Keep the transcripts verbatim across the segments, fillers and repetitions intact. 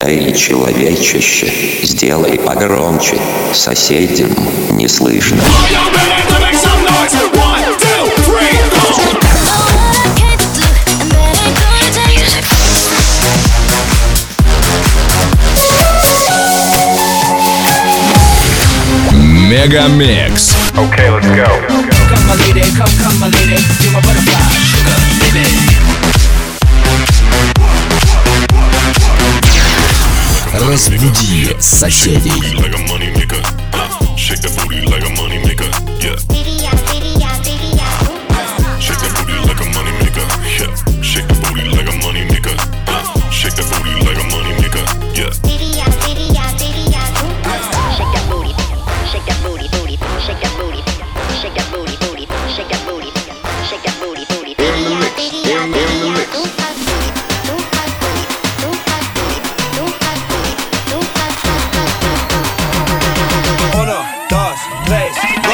Эй, человечище, сделай погромче, соседям не слышно. Мегамикс. Okay, let's go. Come my lady, come, come my lady, you're my butterfly, sugar, baby. Разбуди соседей. Like a money maker. Shake that booty like a money maker. Yeah. Shake that booty like a money maker. Yeah. Shake that booty like a money maker. Shake that booty like a money maker. Yeah. Shake that booty, shake that booty, booty, shake that booty, shake that booty, booty, shake that booty, shake that booty, booty. In the mix, in, in the mix. Uno, dos, tres, go.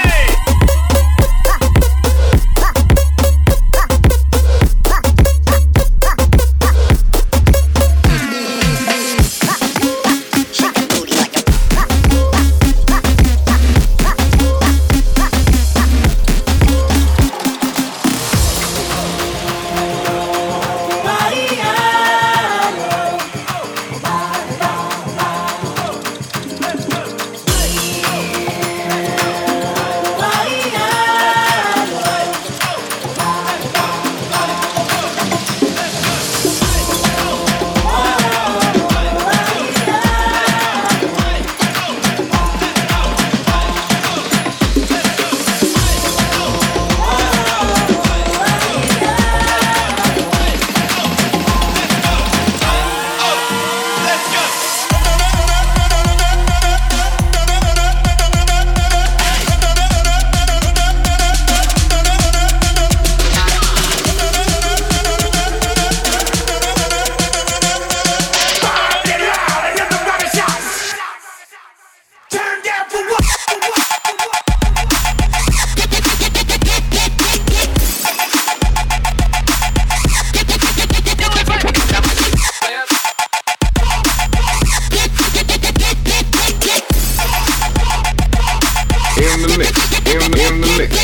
In the mix, in, in the mix.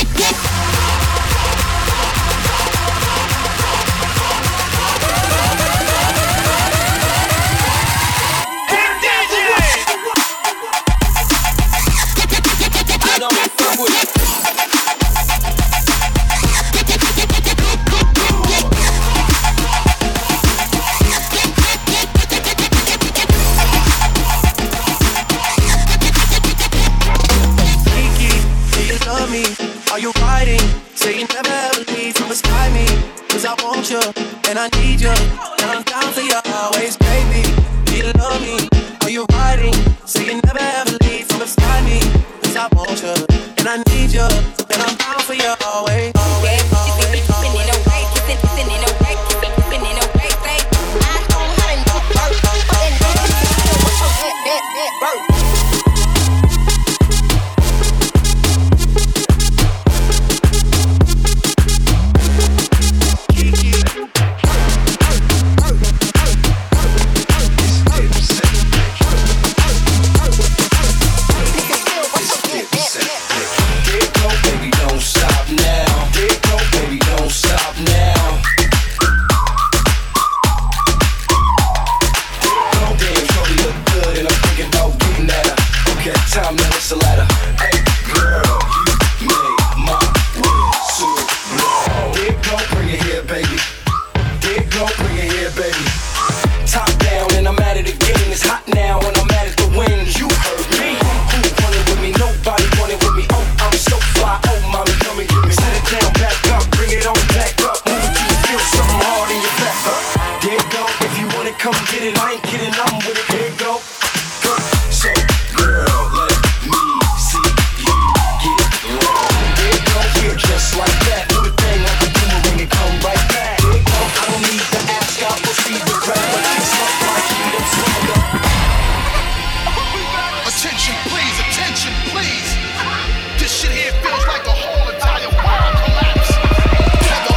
Are you riding? Say you never ever leave from beside me. Cause I want you, and I need you. And I'm down for you always, baby. Do you love me? Are you riding? Say you never ever leave from beside me. Cause I want you, and I need you. And I'm down for you always, always, always, always.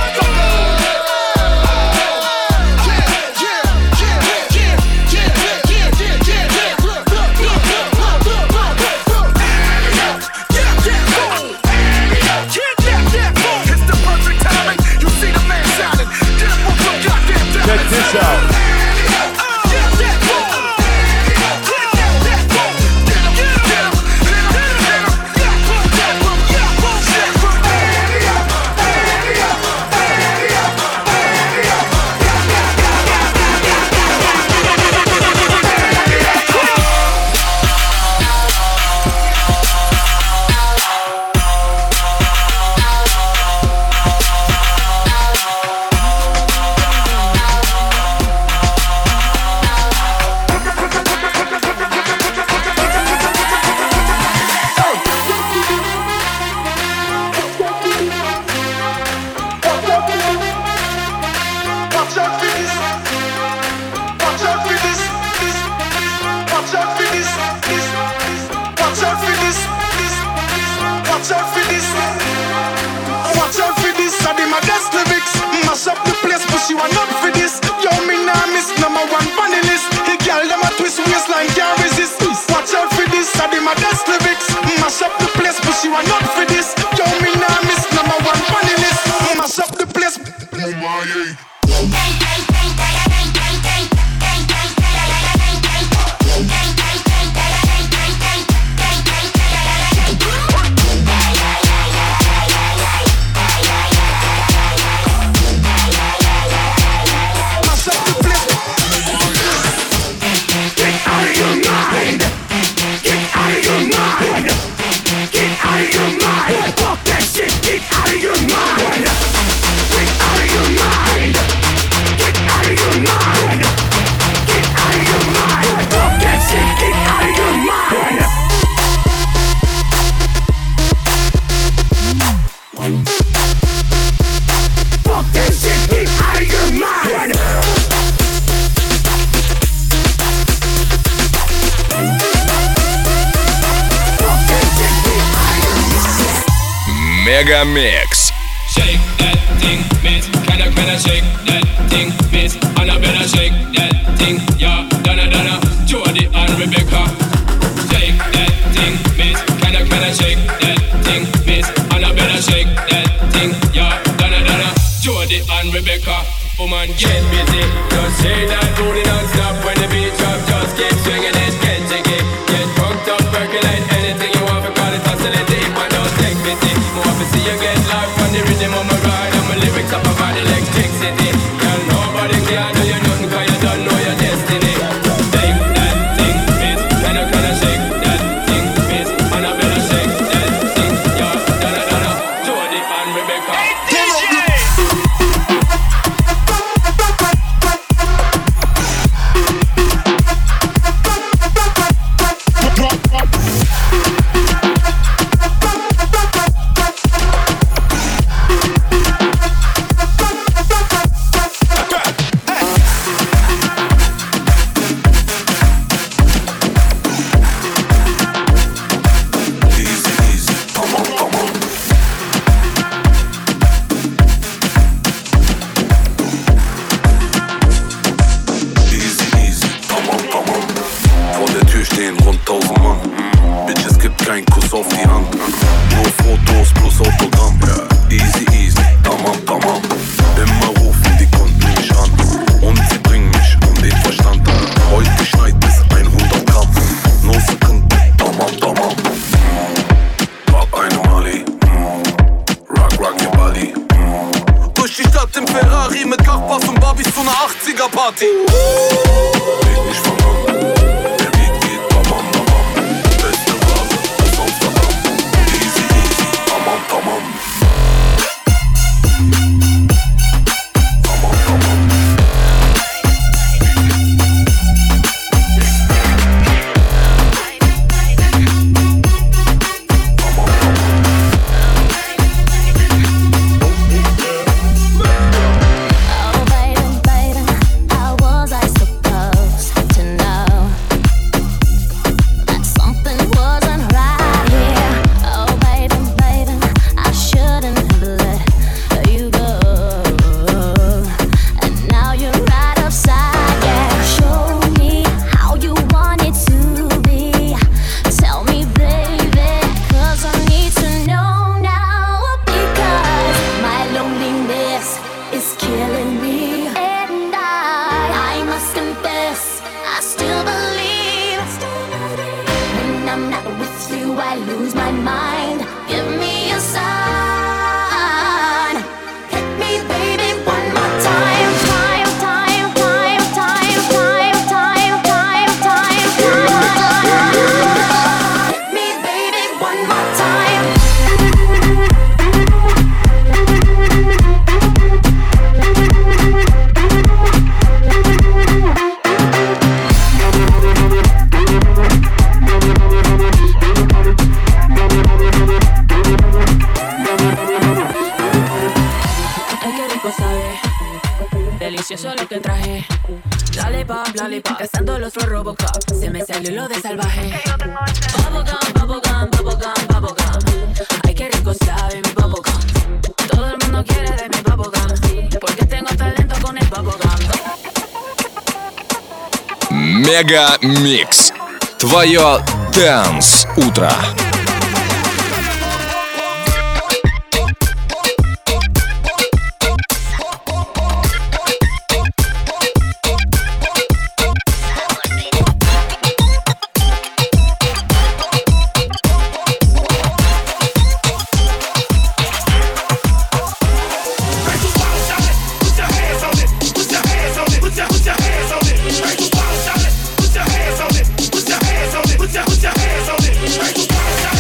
Yeah, yeah, yeah, yeah, yeah. Мегамикс. Shake that thing, miss. Can I, can I shake that thing, miss? And I better shake that thing, yeah. Donna, Donna, Jody and Rebecca. Shake that thing, miss. Can I, can I shake that thing, miss? And I better shake that thing, yeah. Donna, Donna, Jody and Rebecca. Woman, get busy. Just shake that booty non-stop. When the beat drop, just keep swinging it. Get jiggy, get drunk up, percolate anything you want. Because it's oscillating, but don't take pity. More to see you get life on the rhythm of my ride. And my lyrics up about electricity. Girl, nobody can do you nothing, cause you don't know your destiny. Shake that thing, miss. Can I, can I shake that thing, miss? And I better shake that thing, yeah. Donna, Donna, Jody and Rebecca. Party. Leg mich von an, der Beat geht bam bam bam. Beste Ware aus Amsterdam. Easy easy, tamam tamam. Tamam tamam. Delicioso lo que traje. Lollipop, lollipop, cazando los flow Robocop. Se me salió lo de salvaje. Bubblegum, bubblegum, bubblegum, bubblegum. Ay, qué rico sabe mi bubblegum. Todo el mundo quiere de mi bubblegum, porque tengo talento con el bubblegum. Мега Микс. Твое Dance утро. Put your hands on it.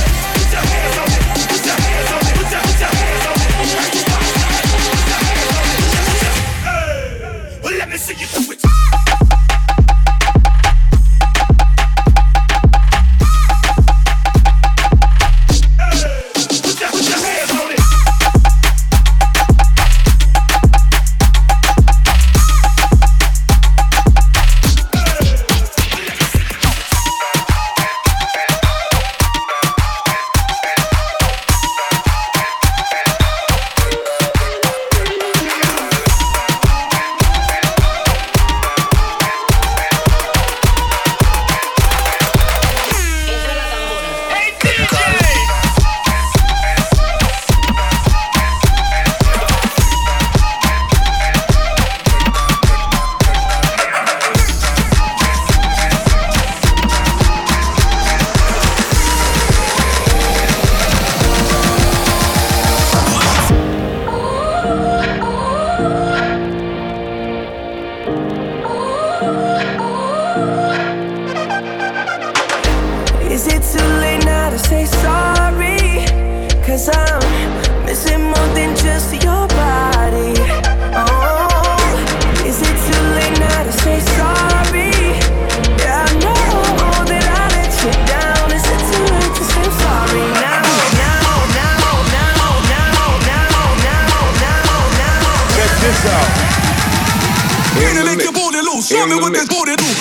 too late now to say sorry? Cause I'm missing more than just your body. Oh, is it too late now to say sorry? Yeah, I know that I let you down. Is it too late to say sorry now? Now, now, now, now, now, now, now, now. Check this out. In the make your booty loose. Show me what this booty do.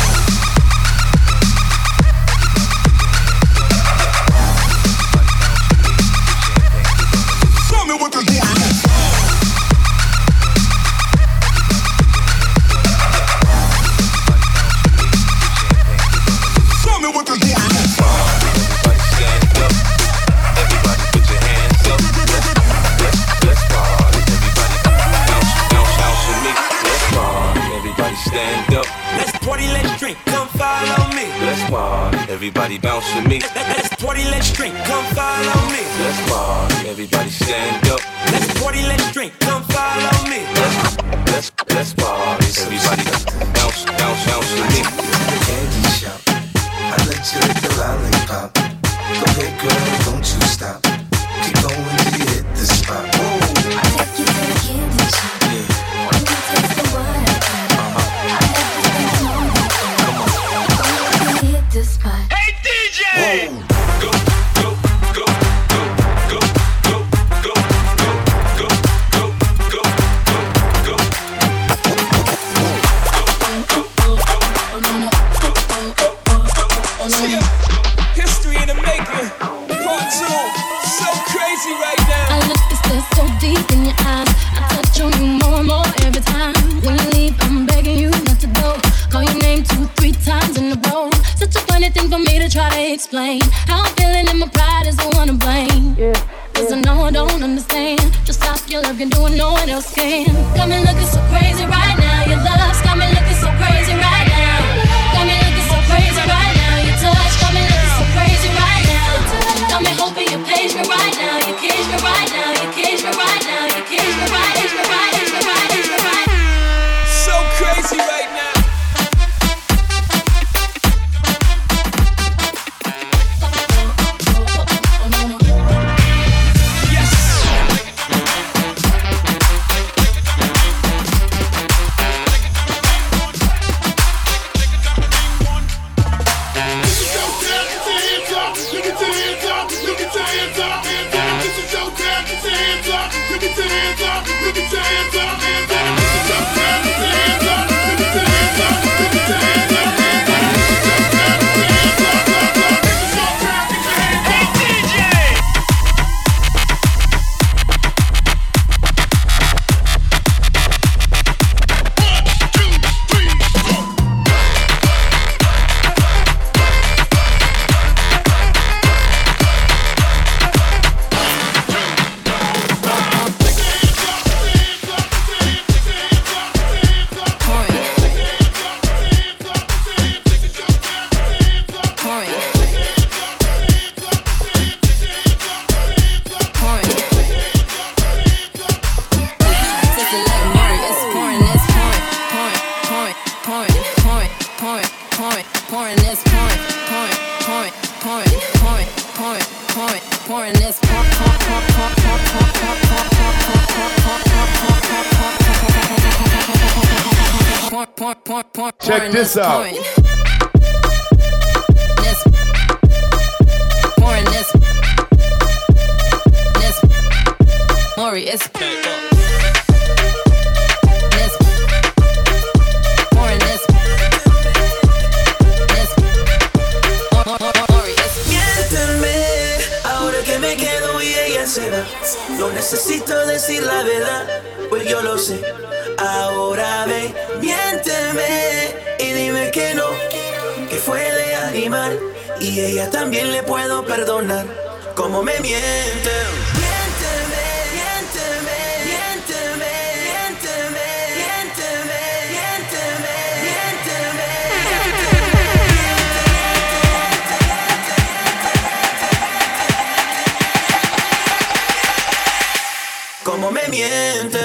Everybody bounce with me. Let's party, let's drink, come follow me. Let's party, everybody stand up. Let's party, let's drink, come follow me. Let's, let's, let's party, everybody bounce, bounce, bounce with me. Candy shop, I let you lick the lollipop. Go ahead, girl, don't you stop. Keep going till you hit the spot. Whoa. I take you to the candy shop. Yeah. When you taste the water, uh-huh. I have to spend more than that. Come on. Go till you hit the spot. Whoa. Explain how I'm feeling and my pride is the one to blame. Yeah, Cause yeah. I know I don't understand. Just stop your love, you're doing no one else can. Got me looking so crazy right now. Your love's got me looking so crazy right now. Got me looking so crazy right now. Your touch got me looking so crazy right now. Got me hoping you page me right now. You cage me right now. You cage me right now. You cage me right, cage me right, cage me right, cage me right. So crazy right now. Check this out. It's no necesito decir la verdad, pues yo lo sé. Ahora ven, miénteme y dime que no, que fue de animal. Y ella también le puedo perdonar, como me miente. Miénteme, miénteme, miénteme, miénteme, miénteme, miénteme, miénteme, miénteme, como me miente.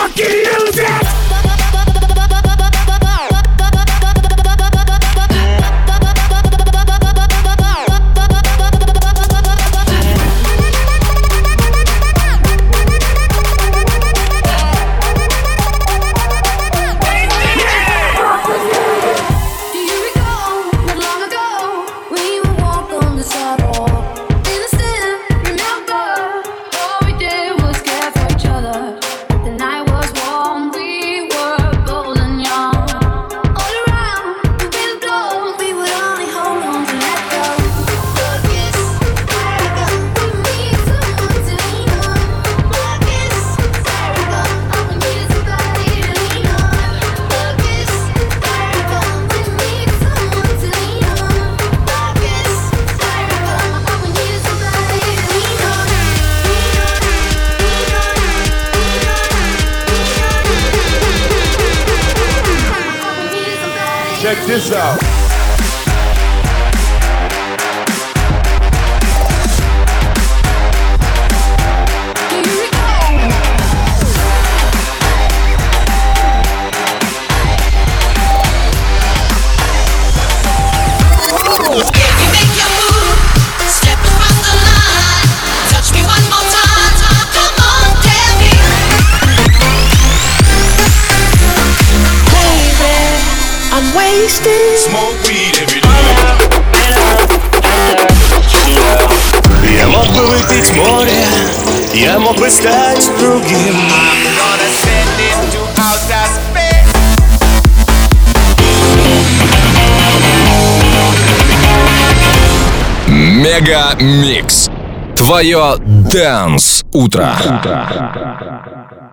fucking use it! Check this out. Smoke weed every day. Я мог бы выпить море, я мог бы стать другим. I'm gonna send it to outer space. Мега Микс. Твое Dance утро.